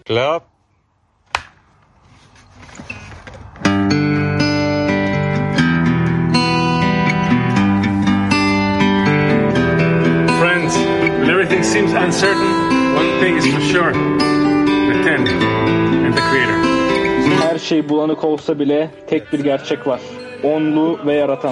Clap. Friends, when everything seems uncertain, one thing is for sure: the Ten and the Creator. Her şey bulanık olsa bile tek bir gerçek var. Onlu ve yaratan.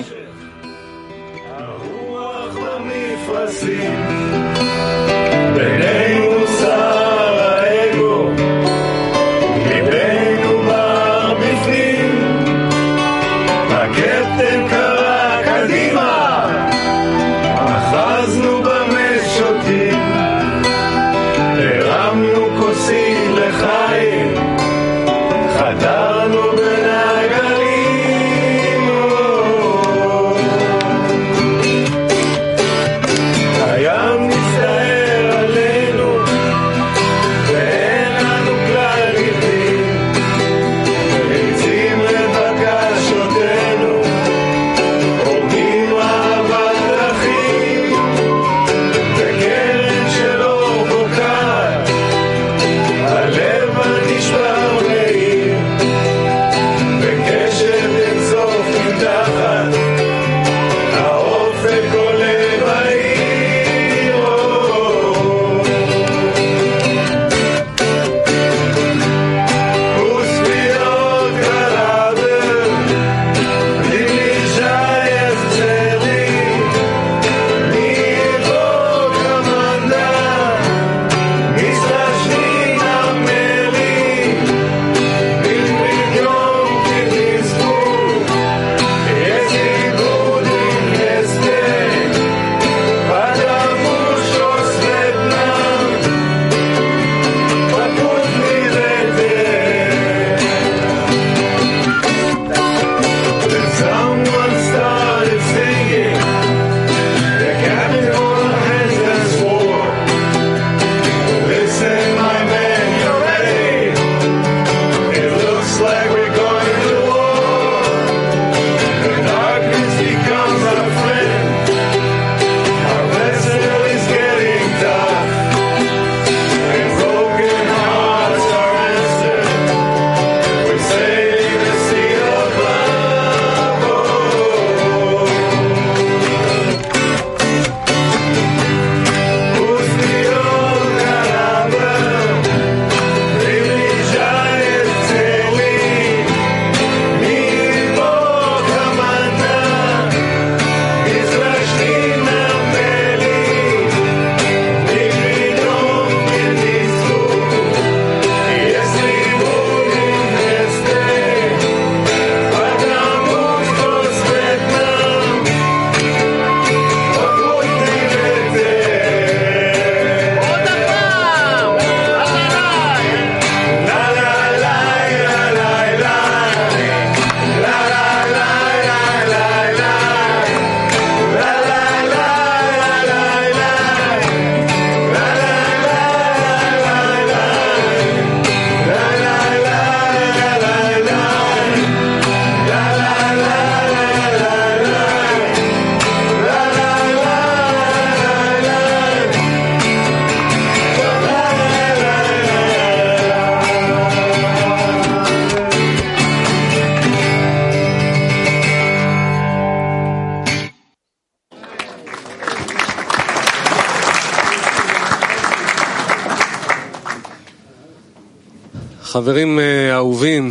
חברים אהובים,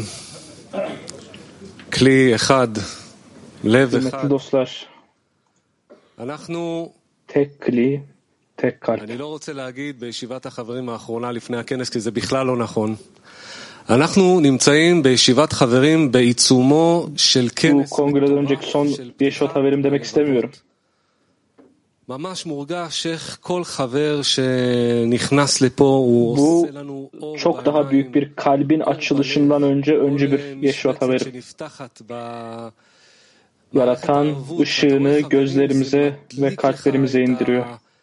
כלי אחד, לב אחד. אנחנו, אני לא רוצה להגיד בישיבת החברים האחרונה לפני הכנס, כי זה בכלל לא נכון. אנחנו נמצאים בישיבת חברים בעיצומו של כנס. ממש מורגש איך כל חבר שנכנס לפה הוא עושה לנו אור çok daha büyük bir kalbin açılışından önce bir Yeşvat haberi. Yaratan ışığını gözlerimize ve kalplerimize indiriyor.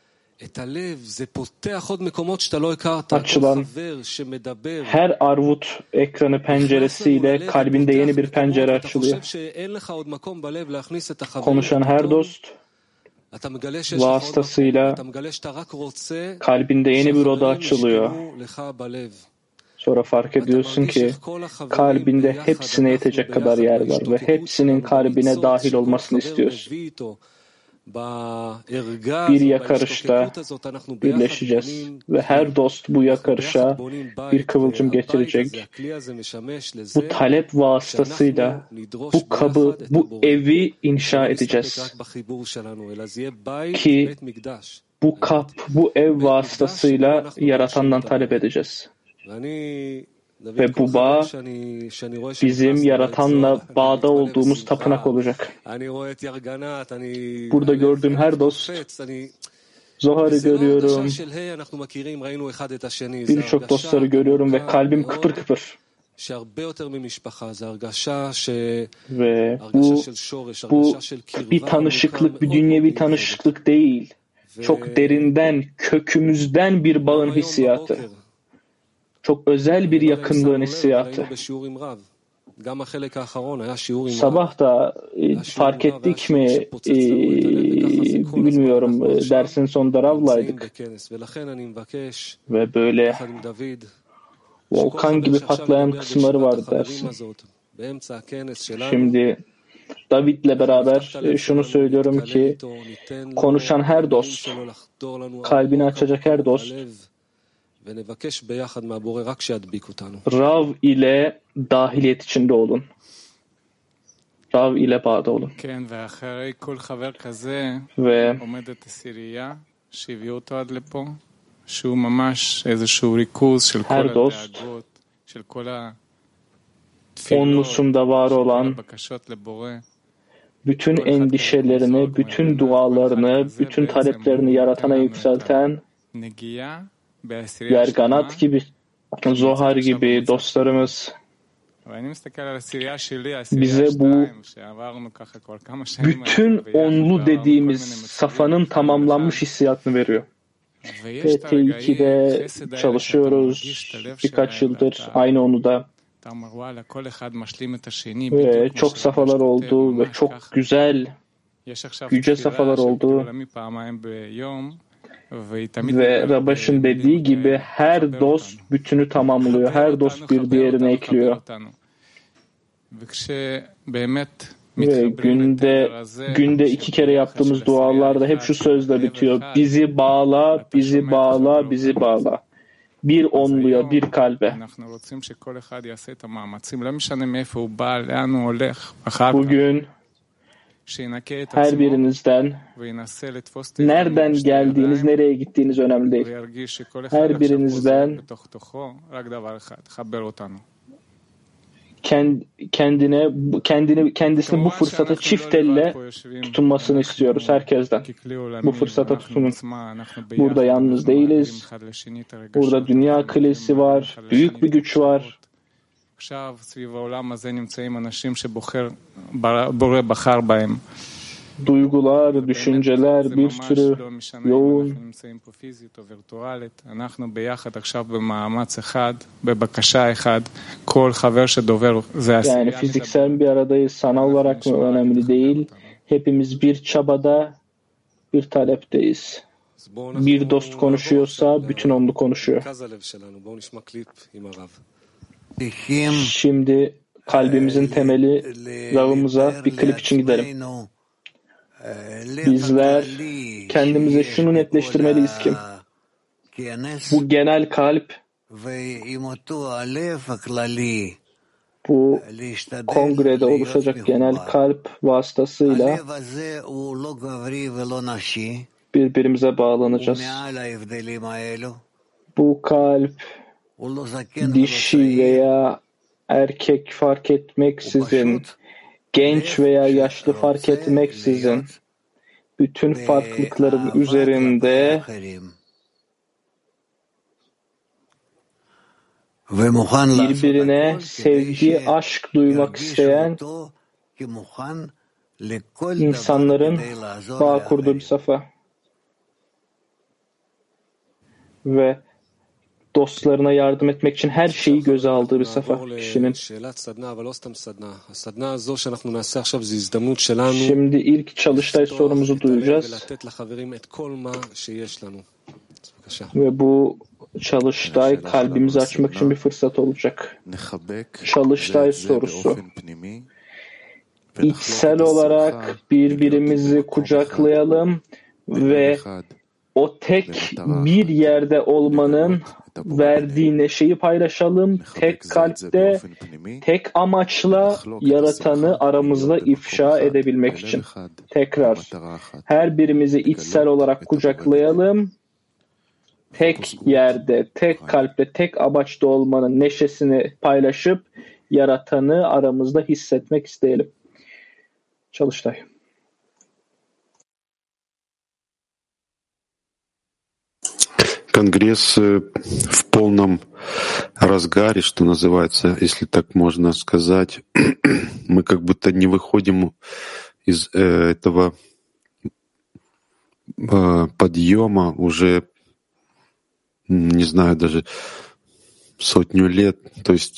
Açılan her arvut ekranı penceresiyle kalbinde yeni bir pencere açılıyor. Konuşan her dost vasıtasıyla kalbinde yeni bir oda açılıyor. Sonra fark ediyorsun ki kalbinde hepsine yetecek kadar yer var ve hepsinin kalbine dahil olmasını istiyorsun. Bir yakarışta birleşeceğiz ve her dost bu yakarışa bir kıvılcım getirecek. Bu talep vasıtasıyla bu kabı, bu evi inşa edeceğiz. Ki bu kap, bu ev vasıtasıyla Yaratan'dan talep edeceğiz. Ve bu bağ bizim Yaratan'la bağda olduğumuz tapınak olacak. Burada gördüğüm her dost, Zohar'ı görüyorum, birçok dostları görüyorum ve kalbim kıpır kıpır. Ve bu bir tanışıklık, bir dünyevi tanışıklık değil. Çok derinden, kökümüzden bir bağın hissiyatı. Çok özel bir yakınlığın hissiyatı. Sabah da fark ettik mi bilmiyorum, dersin sonunda Rav'laydık. Ve böyle volkan gibi patlayan kısımları vardı dersin. Şimdi David'le beraber şunu söylüyorum ki konuşan her dost, kalbini açacak her dost, Rav ile dahiliyet içinde olun. Rav ile bağda olun. Ve her dost onlusunda var olan bütün endişelerini, bütün dualarını, bütün taleplerini Yaratan'a yükselten Yerganat gibi, Zohar gibi dostlarımız bize bu bütün onlu dediğimiz safanın tamamlanmış hissiyatını veriyor. T2'de çalışıyoruz birkaç yıldır aynı onuda. Ve çok safhalar oldu ve çok güzel, yüce safhalar oldu. Ve Rabaş'ın dediği gibi her dost bütünü tamamlıyor. Her dost bir diğerine ekliyor. Ve günde 2 kere yaptığımız dualarda hep şu sözle bitiyor. Bizi bağla, bizi bağla, bizi bağla. Bir onluya, bir kalbe. Bugün her birinizden nereden geldiğiniz, nereye gittiğiniz önemli değil. Her birinizden kendisini bu fırsata çift elle tutunmasını istiyoruz herkesten. Bu fırsata tutunun. Burada yalnız değiliz. Burada dünya kulesi var. Büyük bir güç var. Duygular, düşünceler bir sürü yoğun. Yani fiziksel bir aradayız, sanal olarak mı önemli değil. Hepimiz bir çabada, bir talepteyiz. Bir dost konuşuyorsa bütün onlu konuşuyor. Şimdi kalbimizin temeli Rav'ımıza bir klip için gidelim. Bizler kendimize şunu netleştirmeliyiz ki bu genel kalp, bu kongrede oluşacak genel kalp vasıtasıyla birbirimize bağlanacağız. Bu kalp dişi veya erkek fark etmeksizin, genç veya yaşlı fark etmeksizin bütün farklılıkların üzerinde birbirine sevgi, aşk duymak isteyen insanların bağ kurduğu bir safa ve dostlarına yardım etmek için her şeyi göze aldığı bir safa kişinin. Şimdi ilk çalıştay sorumuzu duyacağız. Ve bu Çalıştay kalbimizi açmak için bir fırsat olacak. Çalıştay sorusu. İçsel olarak birbirimizi kucaklayalım ve o tek bir yerde olmanın verdiği neşeyi paylaşalım. Tek kalpte, tek amaçla yaratanı aramızda ifşa edebilmek için. Tekrar, her birimizi içsel olarak kucaklayalım. Tek yerde, tek kalpte, tek amaçta olmanın neşesini paylaşıp yaratanı aramızda hissetmek isteyelim. Çalıştay. Конгресс в полном разгаре, что называется, если так можно сказать. Мы как будто не выходим из этого подъема уже, не знаю, даже сотню лет. То есть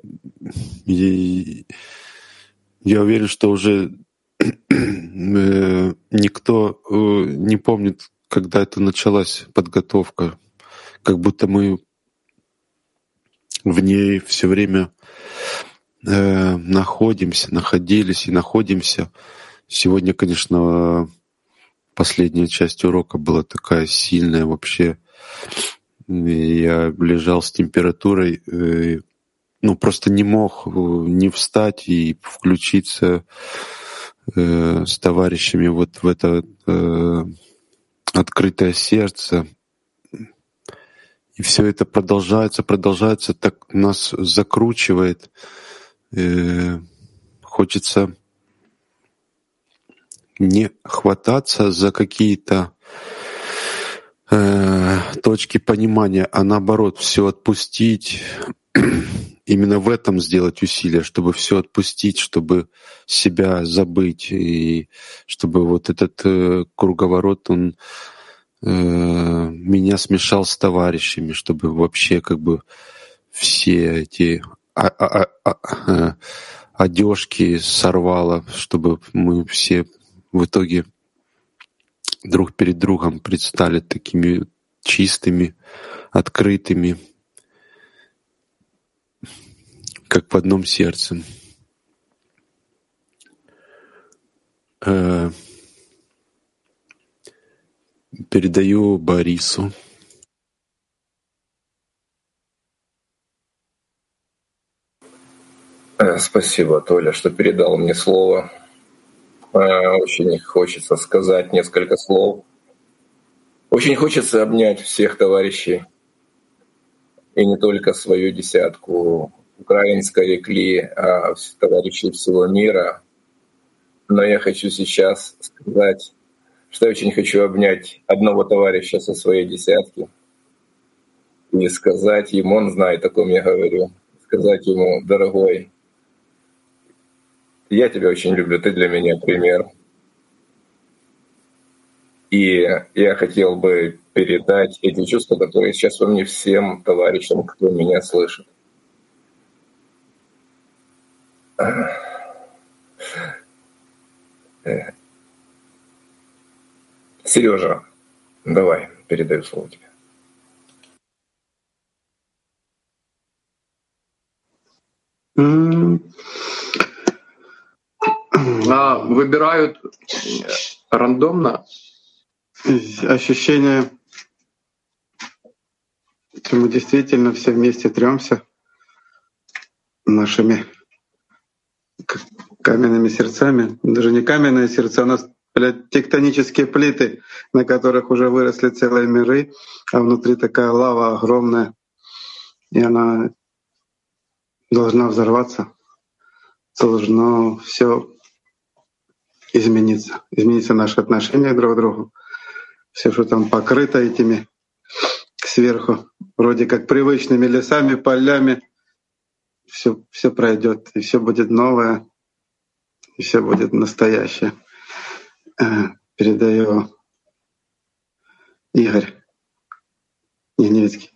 я уверен, что уже никто не помнит, когда это началась подготовка, как будто мы в ней все время находились и находимся. Сегодня, конечно, последняя часть урока была такая сильная вообще. Я лежал с температурой, просто не мог не встать и включиться с товарищами вот в это открытое сердце. И все это продолжается, так нас закручивает. Хочется не хвататься за какие-то точки понимания, а наоборот, все отпустить. Именно в этом сделать усилия, чтобы все отпустить, чтобы себя забыть, и чтобы вот этот круговорот, он меня смешал с товарищами, чтобы вообще как бы все эти одежки сорвало, чтобы мы все в итоге друг перед другом предстали такими чистыми, открытыми, как в одном сердце. Передаю Борису. Спасибо, Толя, что передал мне слово. Очень хочется сказать несколько слов. Очень хочется обнять всех товарищей, и не только свою десятку украинской икли, а товарищей всего мира. Но я хочу сейчас сказать, что я очень хочу обнять одного товарища со своей десятки и сказать ему, он знает, о ком я говорю, сказать ему: дорогой, я тебя очень люблю, ты для меня пример. И я хотел бы передать эти чувства, которые сейчас во мне, всем товарищам, кто меня слышит. Сережа, давай, передаю слово тебе. Выбирают рандомно. Ощущение, что мы действительно все вместе трёмся нашими каменными сердцами. Даже не каменные сердца, у нас, тектонические плиты, на которых уже выросли целые миры, а внутри такая лава огромная, и она должна взорваться, должно все измениться наше отношение друг к другу. Все, что там покрыто этими сверху, вроде как привычными лесами, полями, все пройдет, и все будет новое, и все будет настоящее. Передаю Игорь Неневицкий.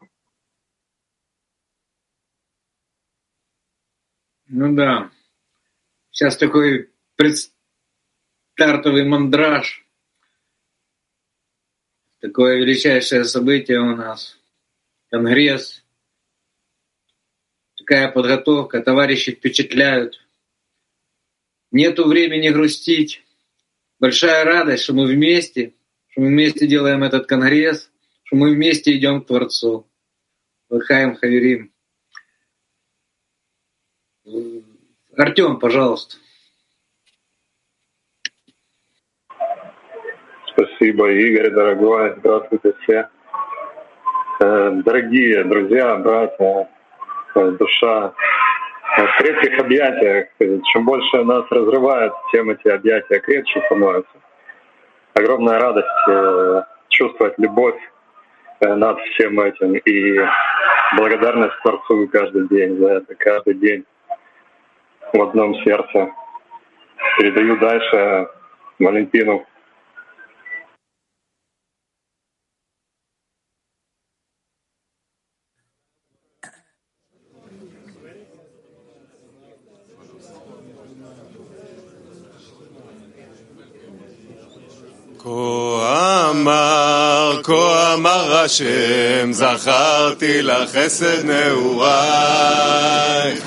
Ну да. Сейчас такой предстартовый мандраж. Такое величайшее событие у нас. конгресс, такая подготовка, товарищи впечатляют. Нету времени грустить. Большая радость, что мы вместе делаем этот конгресс, что мы вместе идем к Творцу. Лахаим Хаверим. Артем, пожалуйста. Спасибо, Игорь, дорогой. Здравствуйте все. Дорогие друзья, братья, душа, в крепких объятиях. Чем больше нас разрывает, тем эти объятия крепче становятся. Огромная радость чувствовать любовь над всем этим и благодарность Творцу каждый день за это, каждый день в одном сердце. Передаю дальше Валентину. כה אמר השם, זכרתי לך חסד נעורייך,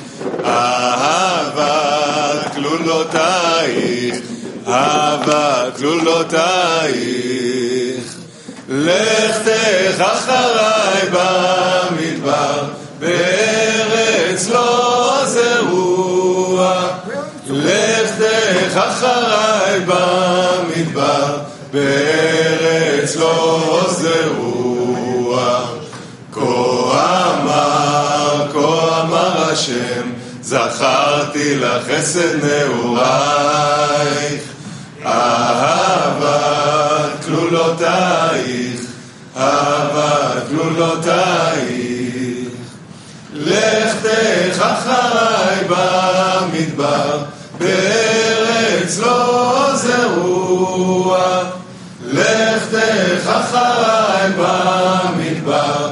אהבת כלולותייך, אהבת כלולותייך. לכתך אחריי במדבר, בארץ לא זרוע. לכתך אחריי במדבר, בארץ לא זרוע. כה אמר השם, זכרתי לך חסד נעורייך, אהבת כלולותייך, אהבת כלולותייך. לכתך אחריי במדבר, בארץ לא זרוע. לכתך אחריי במדבר,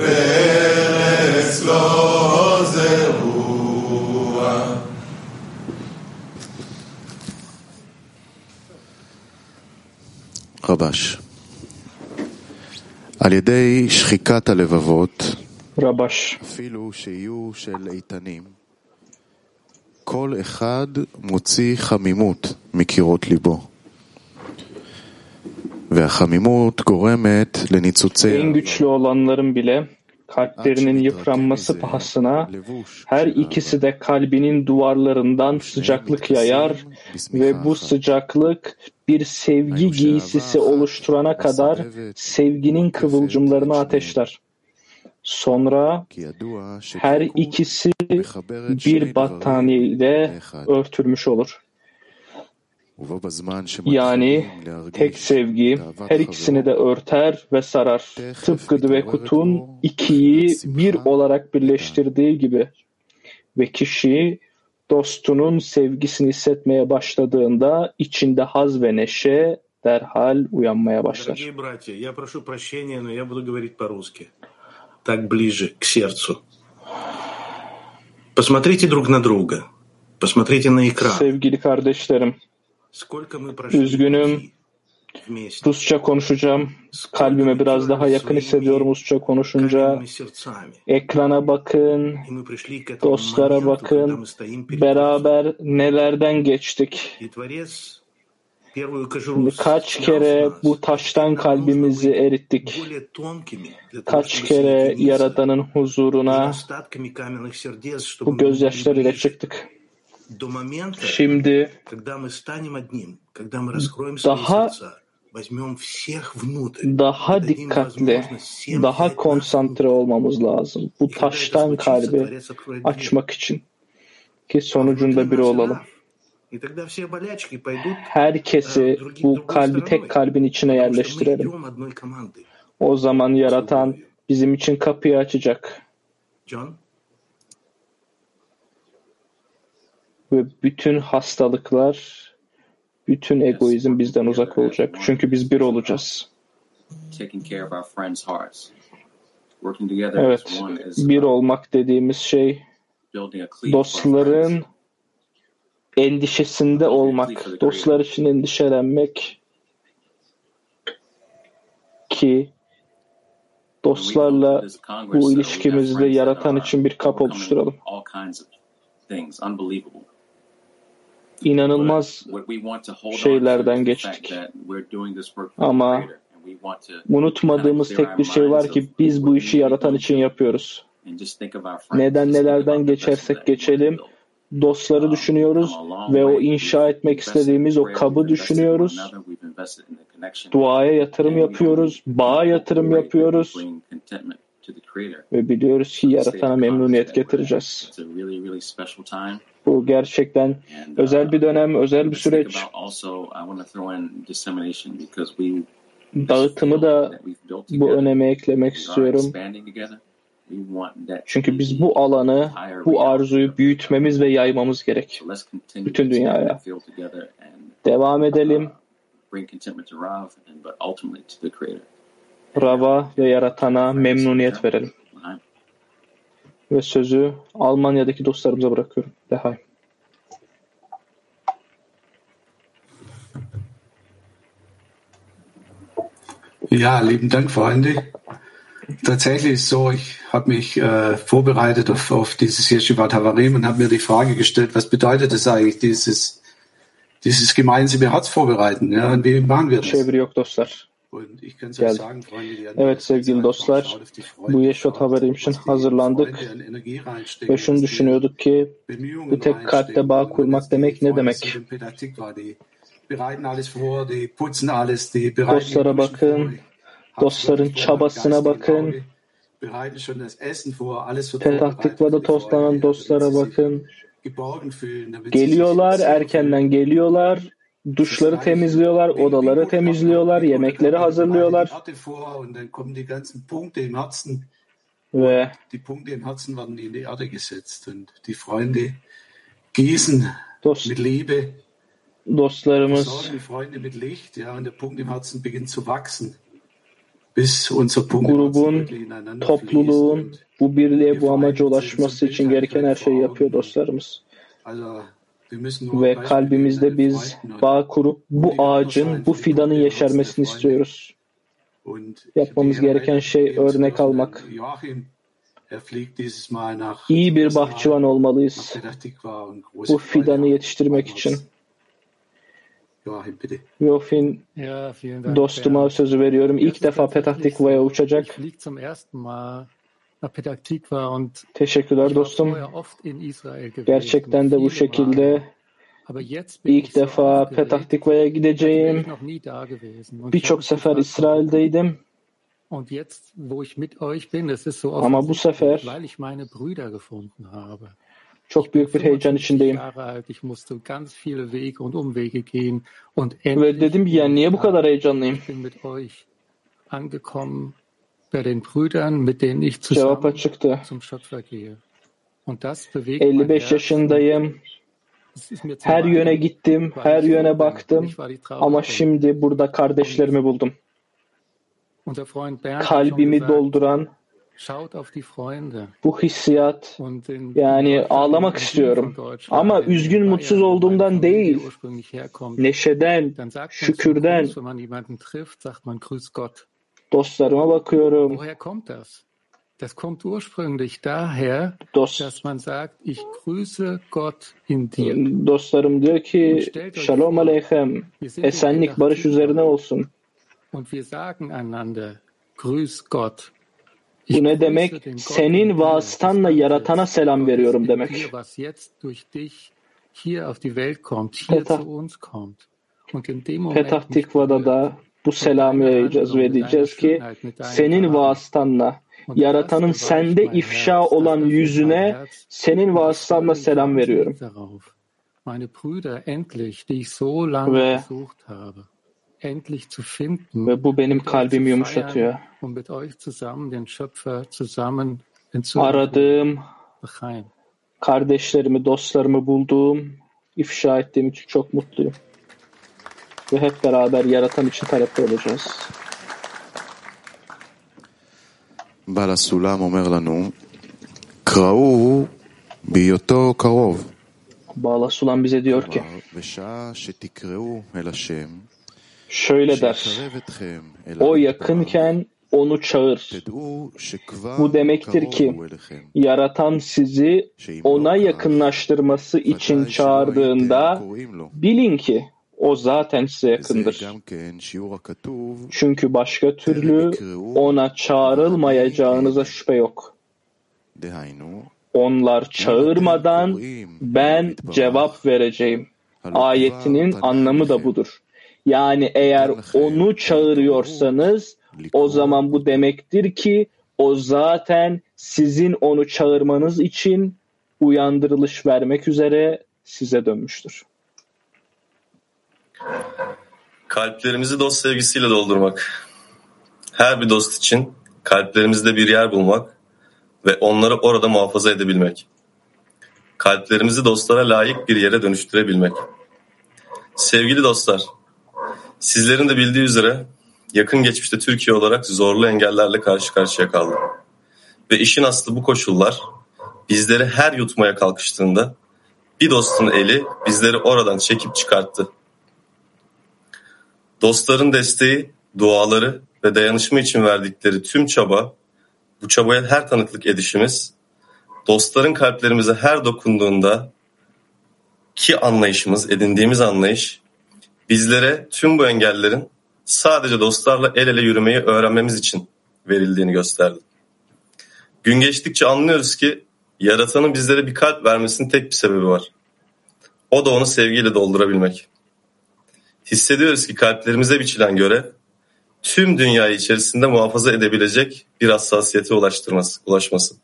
בארץ לא זרוע. רבש, על ידי שחיקת הלבבות, רבש, אפילו שיהיו של איתנים, כל אחד מוציא חמימות מקירות ליבו. והחמימות גורמת לניצוצי en güçlü olanların bile kalplerinin yıpranması pahasına her ikisi de kalbinin duvarlarından sıcaklık yayar ve bu sıcaklık bir sevgi giysisi oluşturana kadar sevginin kıvılcımlarını ateşler. Sonra her ikisi bir battaniye ile örtülmüş olur. Yani tek sevgi her ikisini de örter ve sarar. Tıpkı Dvekut'un ikiyi bir olarak birleştirdiği gibi. Ve kişi dostunun sevgisini hissetmeye başladığında içinde haz ve neşe derhal uyanmaya başlar. Дорогие братья, я прошу прощения, но я буду говорить по-русски. Так ближе к сердцу. Посмотрите друг на друга. Посмотрите на экран. Sevgili kardeşlerim, üzgünüm, Rusça konuşacağım. Kalbime biraz daha yakın hissediyorum Rusça konuşunca. Ekrana bakın, dostlara bakın, beraber nelerden geçtik. Kaç kere bu taştan kalbimizi erittik. Kaç kere Yaradan'ın huzuruna bu gözyaşlarıyla çıktık. Şimdi daha dikkatli, daha konsantre olmamız lazım. Bu taştan kalbi açmak için ki sonucunda biri olalım. Herkesi bu kalbi tek kalbin içine yerleştirelim. O zaman Yaratan bizim için kapıyı açacak. Ve bütün hastalıklar, bütün egoizm bizden uzak olacak. Çünkü biz bir olacağız. Evet, bir olmak dediğimiz şey dostların endişesinde olmak, dostlar için endişelenmek ki Dostlarla bu ilişkimizde yaratan için bir kapı oluşturalım. İnanılmaz şeylerden geçtik. Ama unutmadığımız tek bir şey var ki biz bu işi yaratan için yapıyoruz. Nelerden geçersek geçelim, dostları düşünüyoruz ve o inşa etmek istediğimiz o kabı düşünüyoruz. Duaya yatırım yapıyoruz, bağa yatırım yapıyoruz ve biliyoruz ki yaratana memnuniyet getireceğiz. Bu gerçekten özel bir dönem, özel bir süreç. Dağıtımı da bu öneme eklemek istiyorum. Çünkü biz bu alanı, bu arzuyu büyütmemiz ve yaymamız gerek. Bütün dünyaya. Devam edelim. Rav'a ve yaratana memnuniyet verelim. Ve sözü Almanya'daki dostlarımıza bırakıyorum. Dehay. Ja, lieben Dank, Freunde. Tatsächlich ist so, ich habe mich vorbereitet auf dieses Yeshivat Havarim und habe mir die Frage gestellt, was bedeutet es eigentlich, dieses gemeinsame Herz vorbereiten? Ja, und wie machen wir das? Çeviri yok dostlar. Geldi. Evet sevgili dostlar, bu Yeshivat Havarim için hazırlandık ve şunu düşünüyorduk ki bu tek kalpte bağ kurmak demek ne demek? Dostlara bakın, dostların çabasına bakın, Petah Tikva'da toplanan dostlara bakın. Geliyorlar, erkenden geliyorlar, duşları temizliyorlar, odaları temizliyorlar, yemekleri hazırlıyorlar. Ve dostlarımız grubun, topluluğun bu birliğe, bu amaca ulaşması için gereken her şeyi yapıyor dostlarımız. Ve kalbimizde biz bağ kurup bu ağacın, bu fidanın yeşermesini istiyoruz. Yapmamız gereken şey örnek almak. İyi bir bahçıvan olmalıyız. Bu fidanı yetiştirmek için. Joachim, dostuma sözü veriyorum. İlk defa Petah Tikva'ya uçacak. Teşekkürler dostum. Gerçekten de bu şekilde ilk defa Petah Tikva'ya gideceğim. Birçok sefer İsrail'deydim. Ama bu sefer çok büyük bir heyecan içindeyim. Ve dedim ya niye bu kadar heyecanlıyım? Cevap açıktı. 55 yaşındayım. Her yöne gittim, her yöne baktım. Ama şimdi burada kardeşlerimi buldum. Kalbimi dolduran bu hissiyat, yani ağlamak istiyorum. Ama üzgün, mutsuz olduğumdan değil, neşeden, şükürden. Dostlarıma bakıyorum. Das kommt ursprünglich daher, dass man sagt, ich grüße Gott in dir. Dostlarım diyor ki, Shalom Aleichem, esenlik, barış üzerine olsun. Und wir sagen einander, grüß Gott. Bu ne demek? Senin vasıtanla yaratana selam veriyorum demek. Petah Tikva'da da bu selamı yayacağız ve diyeceğiz ki senin vasıtanla, yaratanın sende ifşa olan yüzüne senin vasıtanla selam veriyorum. Ve bu benim kalbimi yumuşatıyor. Aradığım, kardeşlerimi, dostlarımı bulduğum, ifşa ettiğim için çok mutluyum. Ve hep beraber yaratan için talepte olacağız. בעל הסולם אומר לנו, קראו בהיותו קרוב. Bağla Sulam bize diyor ki, şöyle der, o yakınken onu çağır. Bu demektir ki yaratan sizi ona yakınlaştırması için çağırdığında bilin ki o zaten size yakındır. Çünkü başka türlü ona çağrılmayacağınıza şüphe yok. Onlar çağırmadan ben cevap vereceğim. Ayetinin anlamı da budur. Yani eğer onu çağırıyorsanız o zaman bu demektir ki o zaten sizin onu çağırmanız için uyandırılış vermek üzere size dönmüştür. Kalplerimizi dost sevgisiyle doldurmak. Her bir dost için kalplerimizde bir yer bulmak ve onları orada muhafaza edebilmek. Kalplerimizi dostlara layık bir yere dönüştürebilmek. Sevgili dostlar, sizlerin de bildiği üzere yakın geçmişte Türkiye olarak zorlu engellerle karşı karşıya kaldı. Ve işin aslı bu koşullar bizleri her yutmaya kalkıştığında bir dostun eli bizleri oradan çekip çıkarttı. Dostların desteği, duaları ve dayanışma için verdikleri tüm çaba, bu çabaya her tanıklık edişimiz, dostların kalplerimize her dokunduğunda ki anlayışımız, edindiğimiz anlayış, bizlere tüm bu engellerin sadece dostlarla el ele yürümeyi öğrenmemiz için verildiğini gösterdi. Gün geçtikçe anlıyoruz ki Yaratan'ın bizlere bir kalp vermesinin tek bir sebebi var. O da onu sevgiyle doldurabilmek. Hissediyoruz ki kalplerimize biçilen görev, tüm dünyayı içerisinde muhafaza edebilecek bir hassasiyete ulaşması.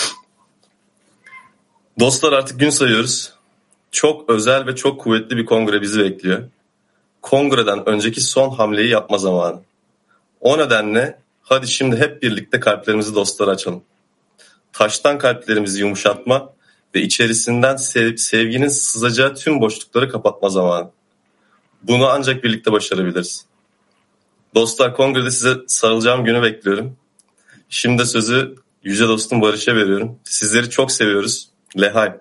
Dostlar, artık gün sayıyoruz. Çok özel ve çok kuvvetli bir kongre bizi bekliyor. Kongreden önceki son hamleyi yapma zamanı. O nedenle hadi şimdi hep birlikte kalplerimizi dostlara açalım. Taştan kalplerimizi yumuşatma ve içerisinden sevginin sızacağı tüm boşlukları kapatma zamanı. Bunu ancak birlikte başarabiliriz. Dostlar, kongrede size sarılacağım günü bekliyorum. Şimdi de sözü yüce dostum Barış'a veriyorum. Sizleri çok seviyoruz. Lehay.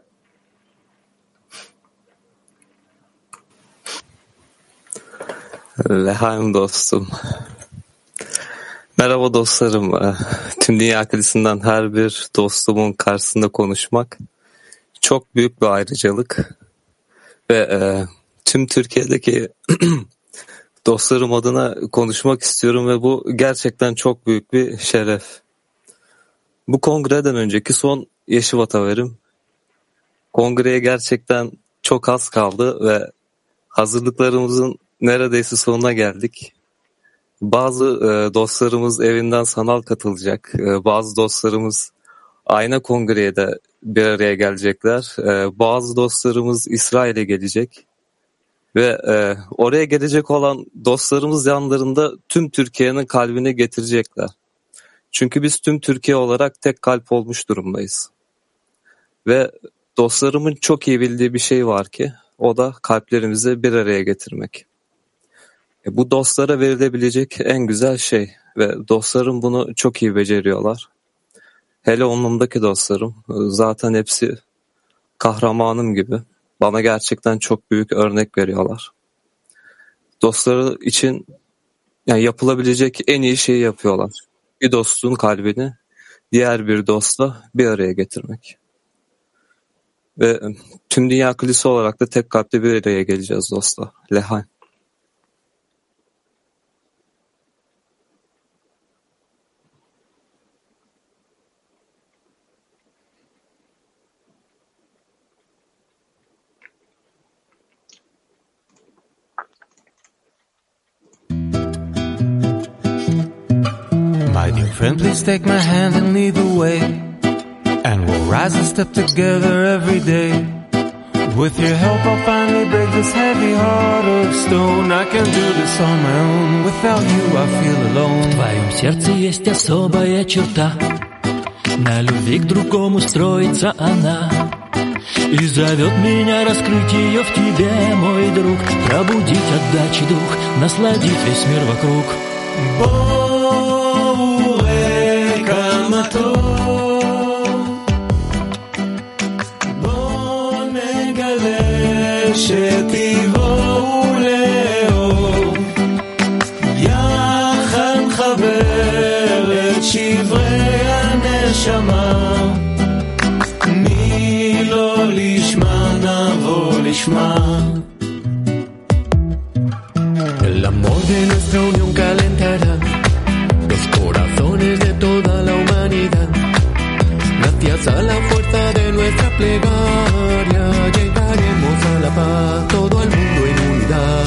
Lehaim dostum. Merhaba dostlarım. Tüm dünya akılısından her bir dostumun karşısında konuşmak çok büyük bir ayrıcalık. Ve tüm Türkiye'deki dostlarım adına konuşmak istiyorum ve bu gerçekten çok büyük bir şeref. Bu kongreden önceki son Yeşivat Haverim. Kongreye gerçekten çok az kaldı ve hazırlıklarımızın neredeyse sonuna geldik. Bazı dostlarımız evinden sanal katılacak. Bazı dostlarımız ayna kongreye de bir araya gelecekler. Bazı dostlarımız İsrail'e gelecek. Ve oraya gelecek olan dostlarımız yanlarında tüm Türkiye'nin kalbini getirecekler. Çünkü biz tüm Türkiye olarak tek kalp olmuş durumdayız. Ve dostlarımın çok iyi bildiği bir şey var ki o da kalplerimizi bir araya getirmek. Bu dostlara verilebilecek en güzel şey ve dostlarım bunu çok iyi beceriyorlar. Hele onumdaki dostlarım zaten hepsi kahramanım gibi. Bana gerçekten çok büyük örnek veriyorlar. Dostları için yani yapılabilecek en iyi şeyi yapıyorlar. Bir dostun kalbini diğer bir dostla bir araya getirmek. Ve tüm dünya kilise olarak da tek kalpte bir araya geleceğiz dostlar. Lehay. My dear friend, please take my hand and lead the way, and we'll rise and step together every day. With your help I'll finally break this heavy heart of stone. I can't do this on my own, without you I feel alone. В твоем сердце есть особая черта, на любви к другому строится она, и зовет меня раскрыть ее в тебе, мой друг, пробудить отдачи дух, насладить весь мир вокруг. שתבואו לאור, יחד חבר הנשמה, מי לא לשמה נבוא לשמה. El amor de nuestra unión calentará los corazones de toda la humanidad. Gracias a la fuerza de nuestra plegaria llegaremos a la paz, todo el mundo en unidad.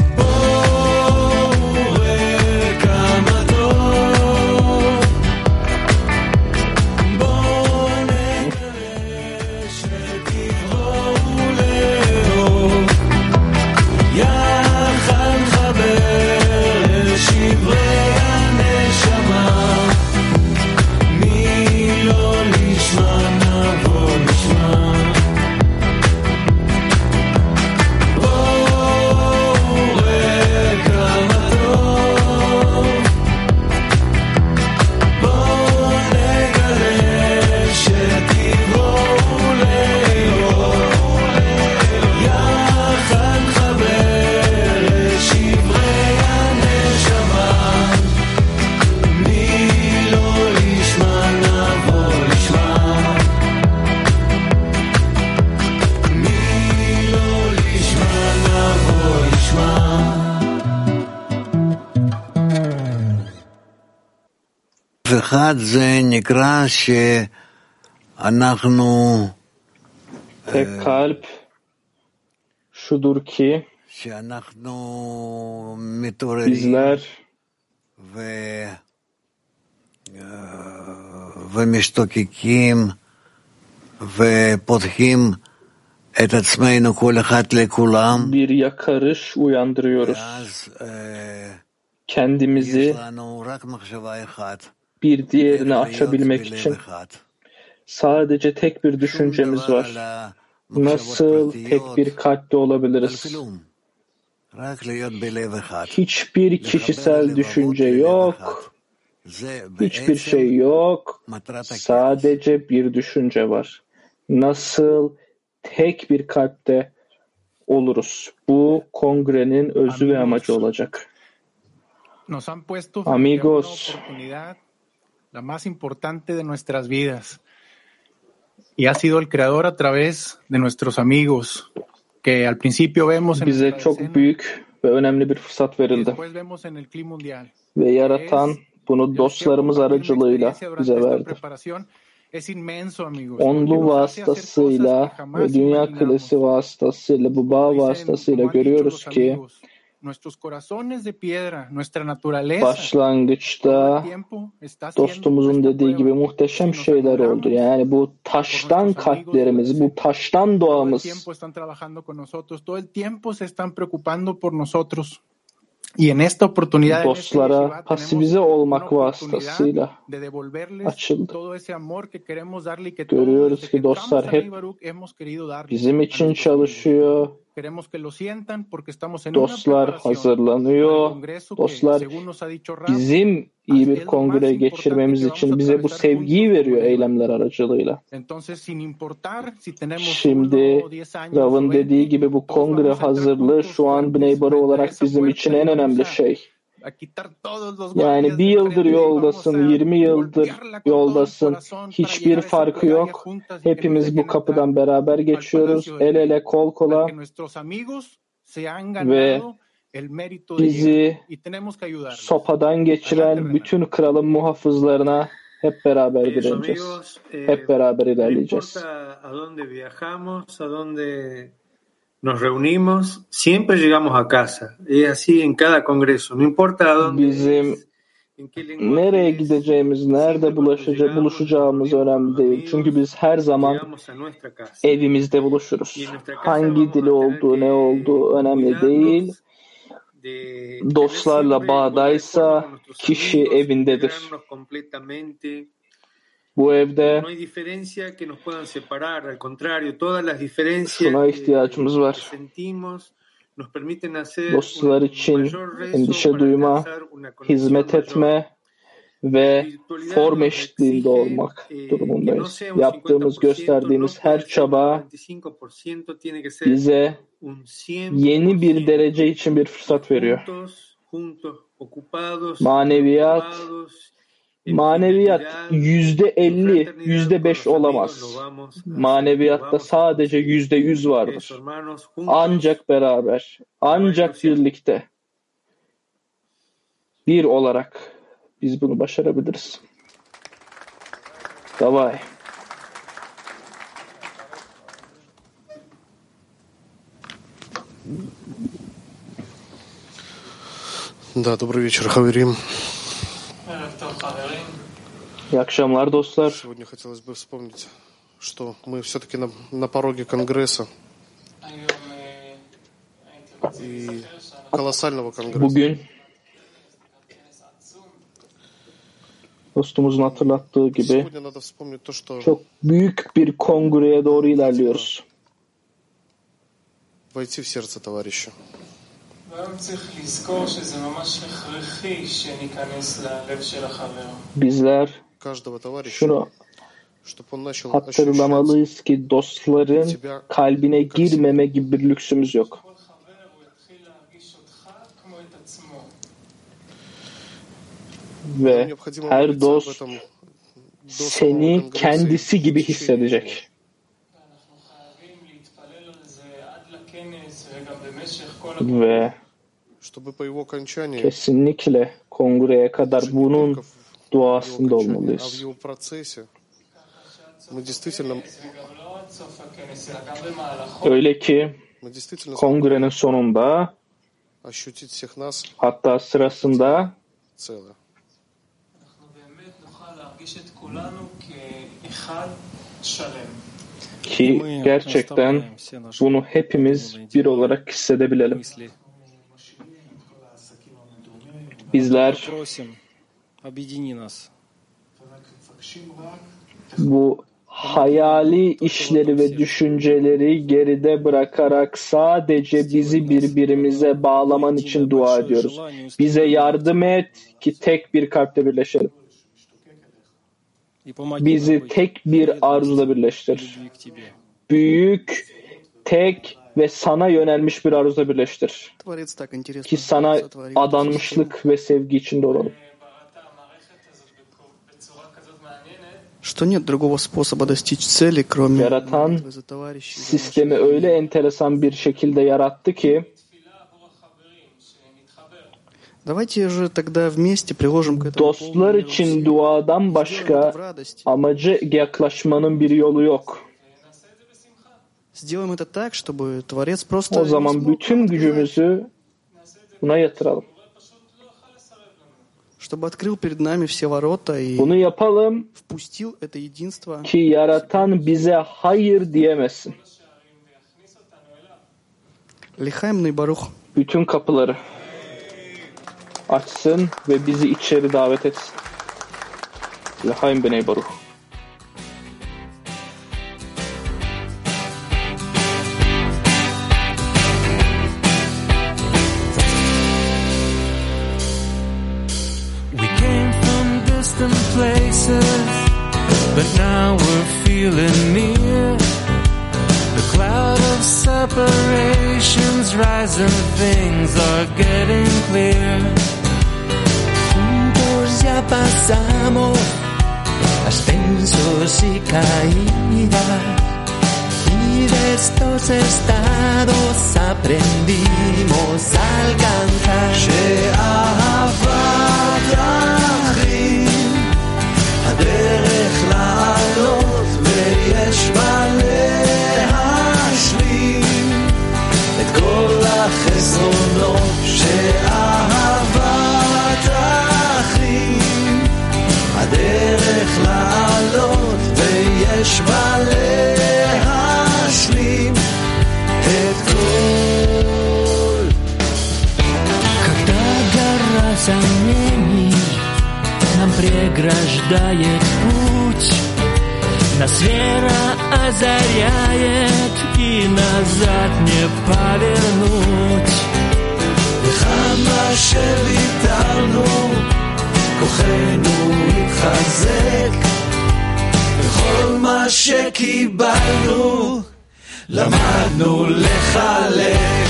Tek kalp şudur ki bizler bir yakarış uyandırıyoruz. Kendimizi bir diğerini açabilmek için sadece tek bir düşüncemiz var. Nasıl tek bir kalpte olabiliriz? Hiçbir kişisel düşünce yok. Hiçbir şey yok. Sadece bir düşünce var. Nasıl tek bir kalpte oluruz? Bu kongrenin özü ve amacı olacak. Amigos, la más importante de nuestras vidas. Y ha sido el creador a través de nuestros amigos, que al principio vemos en bize çok büyük ve önemli bir fırsat verildi. Ve yaratan bunu dostlarımız aracılığıyla bize verdi. Onlu vasıtasıyla ve Dünya Kilesi vasıtasıyla, bu bağ vasıtasıyla görüyoruz ki başlangıçta dostumuzun dediği gibi muhteşem şeyler oldu. Yani bu taştan kalplerimiz, bu taştan doğamız dostlara pasifize olmak vasıtasıyla açıldı. Görüyoruz ki dostlar hep bizim için çalışıyor. Dostlar hazırlanıyor. Dostlar bizim iyi bir kongre geçirmemiz için bize bu sevgiyi veriyor eylemler aracılığıyla. Şimdi Rav'ın dediği gibi bu kongre hazırlığı şu an Bnei Baro olarak bizim için en önemli şey. Yani bir yıldır yoldasın, 20 yıldır yoldasın, hiçbir farkı yok. Hepimiz bu kapıdan beraber geçiyoruz, el ele, kol kola ve bizi sopadan geçiren bütün kralın muhafızlarına hep beraber direneceğiz. Hep beraber ilerleyeceğiz. Nos reunimos, siempre llegamos a casa. Es así en cada congreso. No importa a dónde. Bizim nereye gideceğimiz, nerede buluşacağımız önemli değil. Çünkü biz her zaman evimizde buluşuruz. Hangi dili olduğu, ne olduğu önemli değil. Dostlarla bağdaysa kişi evindedir. Bu evde şuna ihtiyacımız var. Dostlar için endişe duyma, hizmet etme ve form eşitliğinde olmak durumundayız. Yaptığımız, gösterdiğimiz her çaba bize yeni bir derece için bir fırsat veriyor. Maneviyat Maneviyat %50, %5 olamaz. Maneviyatta sadece %100 vardır. Ancak beraber, ancak birlikte, bir olarak biz bunu başarabiliriz. Davay. Да, добрый вечер, Хаверим. İyi akşamlar dostlar. Сегодня хотелось бы вспомнить, что мы все-таки на пороге Конгресса. И колоссального Конгресса. Bugün dostumuzun hatırlattığı gibi çok büyük bir kongreye doğru ilerliyoruz. Войти в сердце товарища. Bizler şunu hatırlamalıyız ki dostların kalbine girmeme gibi bir lüksümüz yok. Ve her dost seni kendisi gibi hissedecek. Ve kesinlikle kongreye kadar bunun duasında olmalıyız. Öyle ki kongrenin sonunda, hatta sırasında ki gerçekten bunu hepimiz bir olarak hissedebilelim. Bizler bu hayali işleri ve düşünceleri geride bırakarak sadece bizi birbirimize bağlaman için dua ediyoruz. Bize yardım et ki tek bir kalple birleşelim. Bizi tek bir arzuda birleştir. Büyük, tek ve sana yönelmiş bir arzuda birleştir. Ki sana adanmışlık ve sevgi içinde olalım. Yaratan sistemi öyle enteresan bir şekilde yarattı ki dostlar için duadan başka amaca yaklaşmanın bir yolu yok. O zaman bütün gücümüzü buna yatıralım. Bunu yapalım ki yaratan bize hayır diyemesin. Bütün kapıları açsın ve bizi içeri davet etsin. L'chaim b'nei baruch. Places, but now we're feeling near. The cloud of separations rising, things are getting clear. Juntos ya pasamos ascensos y caídas, y de estos estados aprendimos a alcanzar. הדרך לעלות ויש מה להשלים את כל החסרונות שאהבת אחים. הדרך לעלות ויש מה להשלים את כל. Когда гора сомнений нам преграждает путь, нас вера озаряет и назад не повернуть. וכמה שוויתרנו כוחנו התחזק, וכל מה שקיבלנו למדנו לחלק.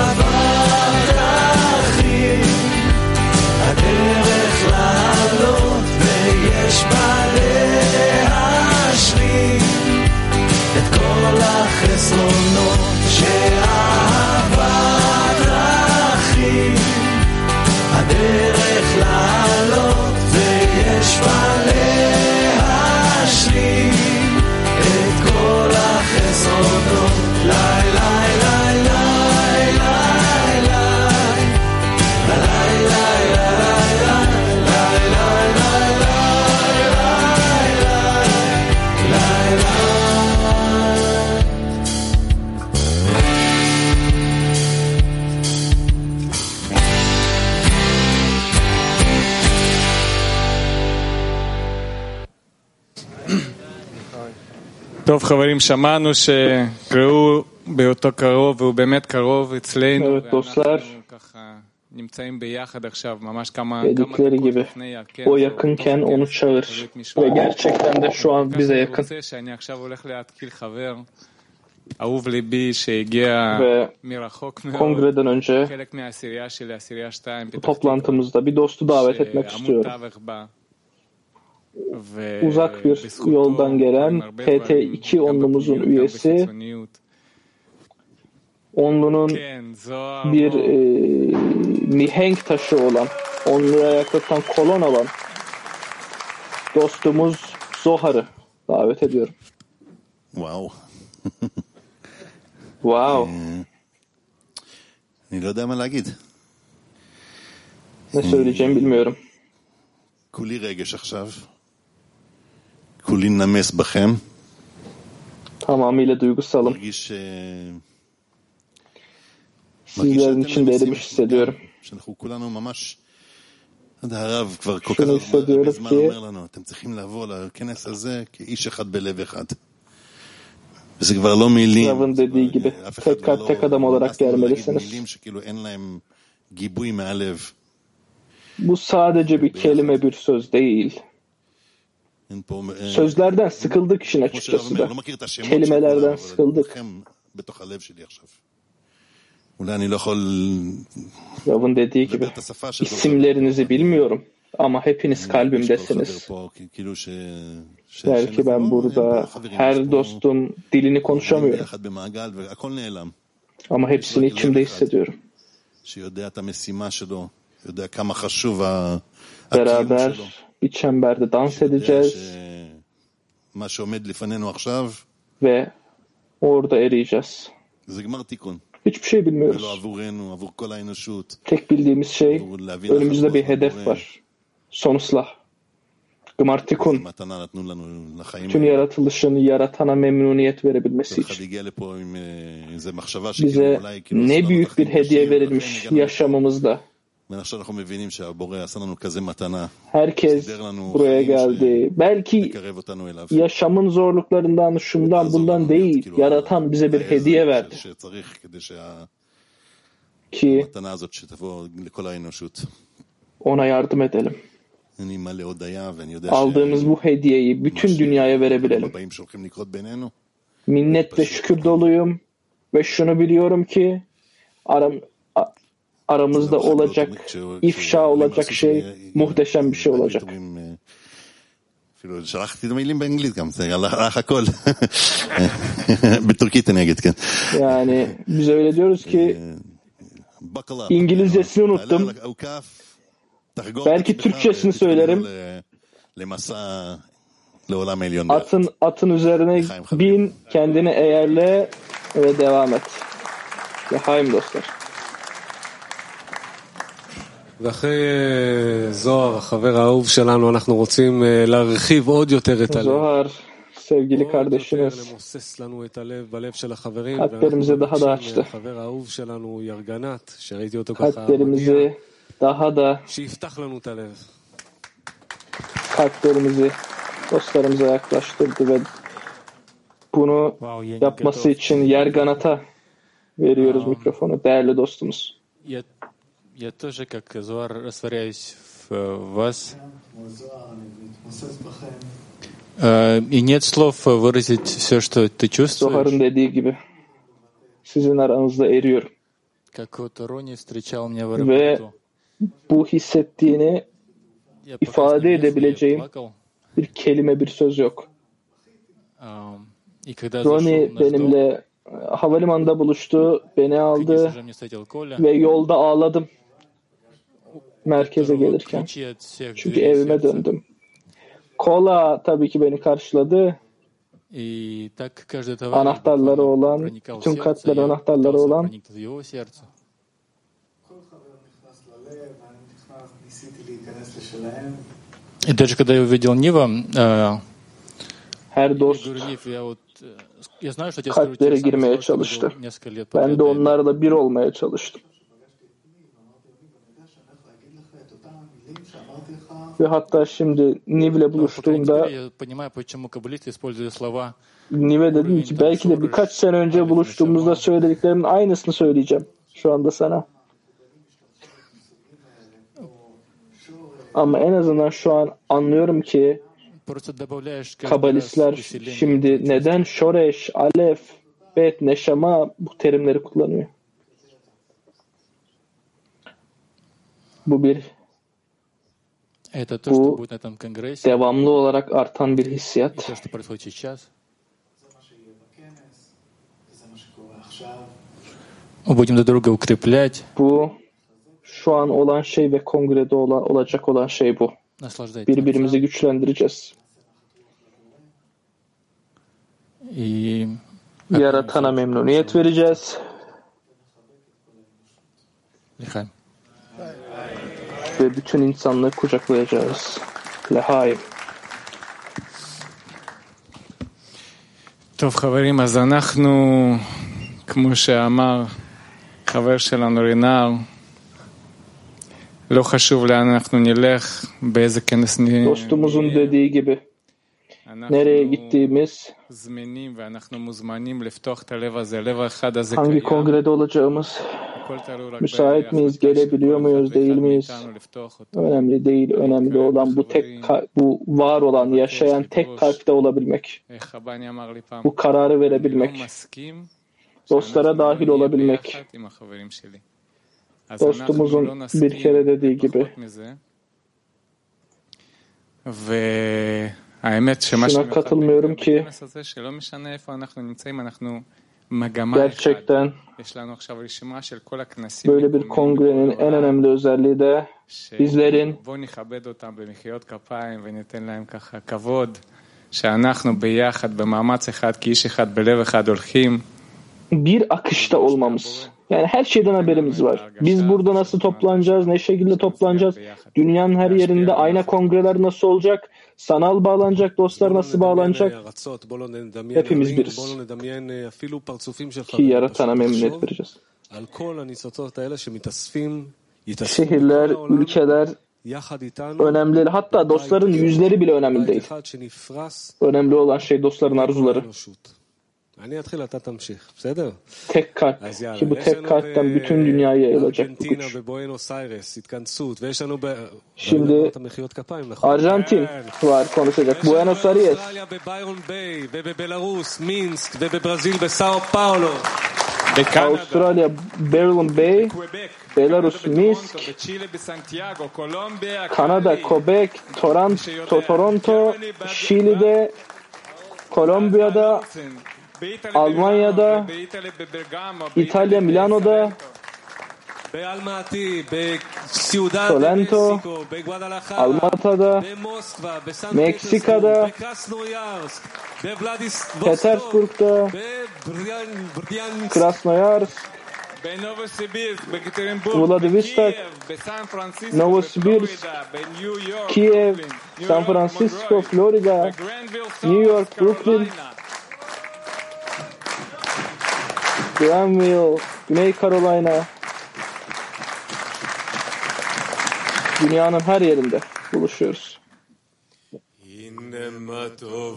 שאהבת אחים הדרך לעלות טוב חברים, שמענו שקראו באותו קרוב והוא באמת קרוב אצלנו ואנחנו ככה נמצאים ביחד עכשיו ממש כמה דקות לפני הכנס. O yakınken onu çağır ve gerçekten de şu an bize yakın. שאני עכשיו הולך להתקיל חבר אהוב ליבי שהגיע מרחוק מאוד. Kongreden önce חלק מהעשירייה שלי, העשירייה 2 bu toplantımızda bir dostu davet etmek istiyorum. Uzak bir yoldan gelen PT2 onlumuzun üyesi, onlunun bir mihenk taşı olan, onluya yaklatan kolon olan dostumuz Zohar'ı davet ediyorum. Wow. Wow. אני לא יודע מה להגיד. Ne söyleyeceğimi bilmiyorum. כולי רגש עכשיו. כולי נמס בכם. Tamamıyla duygusalım. Sizlerin içinde erimiş hissediyorum. Şunu hissediyorum ki אתם צריכים לבוא לכנס הזה כאיש אחד בלב אחד. וזה כבר לא מילים. Rav'ın dediği gibi tek kalp tek adam olarak gelmelisiniz. שכאילו אין להם גיבוי מהלב. Bu sadece bir kelime, bir söz değil. Sözlerden sıkıldık işin açıkçası da. Kelimelerden sıkıldık. Rav'ın dediği gibi isimlerinizi bilmiyorum ama hepiniz kalbimdesiniz. Belki ben burada her dostum dilini konuşamıyorum. Ama hepsini içimde hissediyorum. Beraber bir çemberde dans edeceğiz ve orada eriyeceğiz. Hiçbir şey bilmiyoruz. Tek bildiğimiz şey, önümüzde bir hedef var. Son ıslah. Gmartikun. Tüm yaratılışın yaratana memnuniyet verebilmesi için. Bize ne büyük bir hediye verilmiş yaşamımızda. Herkes buraya geldi. Belki yaşamın zorluklarından, şundan bundan değil, yaratan bize bir hediye verdi. Ki ona yardım edelim. Aldığımız bu hediyeyi bütün dünyaya verebilelim. Minnet ve şükür doluyum ve şunu biliyorum ki aramızda olacak, ifşa olacak şey muhteşem bir şey olacak. Yani biz öyle diyoruz ki İngilizcesini unuttum. Belki Türkçesini söylerim. Atın üzerine bin, kendini eğerle ve devam et. L'chaim dostlar. ואחרי זוהר, החבר האהוב שלנו, אנחנו רוצים להרחיב עוד יותר את הלב. זוהר, sevgili kardeşimiz, kalplerimizi daha da açtı. Kalplerimizi daha da kalplerimizi dostlarımıza yaklaştırdı ve bunu yapması için Yerganat'a veriyoruz mikrofonu, değerli dostumuz. Я тоже, как Зоар, растворяюсь в вас. И нет слов выразить все, что ты чувствуешь. Zohar'ın dediği gibi sizin aranızda eriyorum. Как вот Рони встречал меня в Ve аэропорту. bu hissettiğini ifade edebileceğim bir kelime, bir söz yok. Ronnie benimle havalimanında buluştu, beni aldı ve yolda ağladım merkeze gelirken. Çünkü evime döndüm. Kola tabii ki beni karşıladı. Anahtarları olan, bütün katların anahtarları olan. И даже когда я увидел Нива, her dost kalplere girmeye çalıştı. Ben de onlarla bir olmaya çalıştım. Ve hatta şimdi Niv'le buluştuğumda Niv'e dedim ki belki de birkaç sene önce buluştuğumuzda söylediklerimin aynısını söyleyeceğim şu anda sana. Ama en azından şu an anlıyorum ki Kabalistler şimdi neden Şoreş, Alef, Bet, Neşama bu terimleri kullanıyor. Bu devamlı olarak artan bir hissiyat. Bu şu an olan şey ve kongrede olacak olan şey bu. Birbirimizi güçlendireceğiz. Yaratana memnuniyet vereceğiz. Ve bütün insanlığı kucaklayacağız. Lehaim. טוב חברים, אז אנחנו, כמו שאמר חבר שלנו רינר, לא חשוב לאן אנחנו נלך, באיזה כנס dostumuzun dediği gibi nereye gittiğimiz, hangi kongrede olacağımız, müsait miyiz, gelebiliyor muyuz, değil miyiz? Önemli değil. Önemli olan bu var olan, yaşayan tek kalpte olabilmek. Bu kararı verebilmek. Dostlara dahil olabilmek. Dostumuzun bir kere dediği gibi. Şuna katılmıyorum ki gerçekten böyle bir kongrenin en önemli özelliği de bizlerin bir akışta olmamız. Yani her şeyden haberimiz var. Biz burada nasıl toplanacağız, ne şekilde toplanacağız, dünyanın her yerinde ayna kongreler nasıl olacak, sanal bağlanacak, dostlar nasıl bağlanacak, hepimiz biriz. Ki yaratana memnuniyet vereceğiz. Şehirler, ülkeler önemli değil. Hatta dostların yüzleri bile önemli değil. Önemli olan şey dostların arzuları. Tek kalp ki bu tek kalpten bütün dünyaya yayılacak bu güç. Şimdi Arjantin var konuşacak. Buenos Aires, Avustralya, Berlin Bay, Belarus, Minsk, Kanada, Quebec, Toronto, Şili'de, Kolombiya'da, Almanya'da, İtalya, Milano'da, Sorrento, Almata'da, Meksika'da, Petersburg'da, Krasnoyarsk, Vladivostok, Novosibirsk, Kiev, San Francisco, Florida, New York, Brooklyn, Granville, Güney Carolina, dünyanın her yerinde buluşuyoruz. מה טוב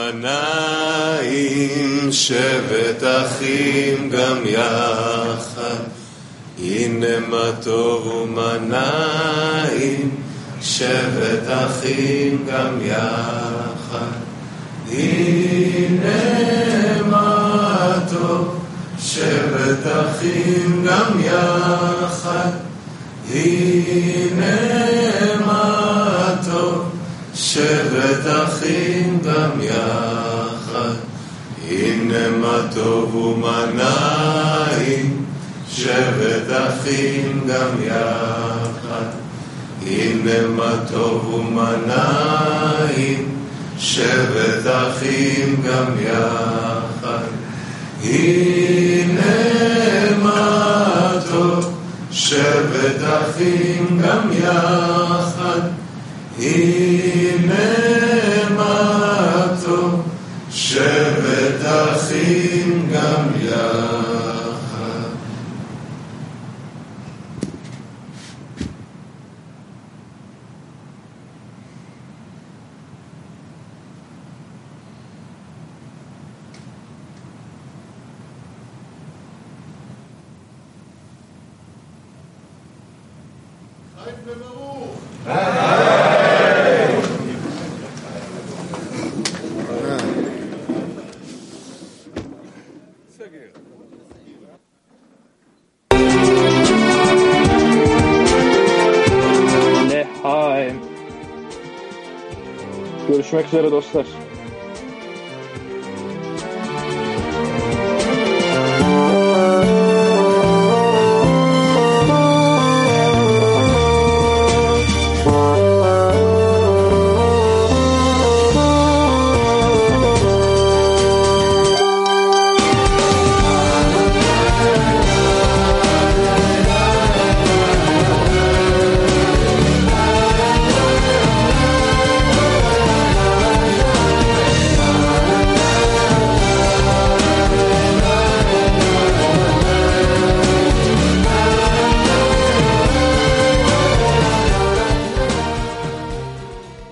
ומנעים שבת אחים גם יחד הנה מה טוב ומנעים שבת אחים גם יחד הנה מה טוב שבת אחים גם יחד הנה מה טוב שבת אחים גם יחד הנה מה טוב ומה נעים שבת אחים גם יחד הנה מה טוב ומה נעים שבת אחים גם יחד הנה מה טוב שבת אחים גם יחד הנה מה טוב שבת אחים גם יחד Görüşmek üzere dostlar.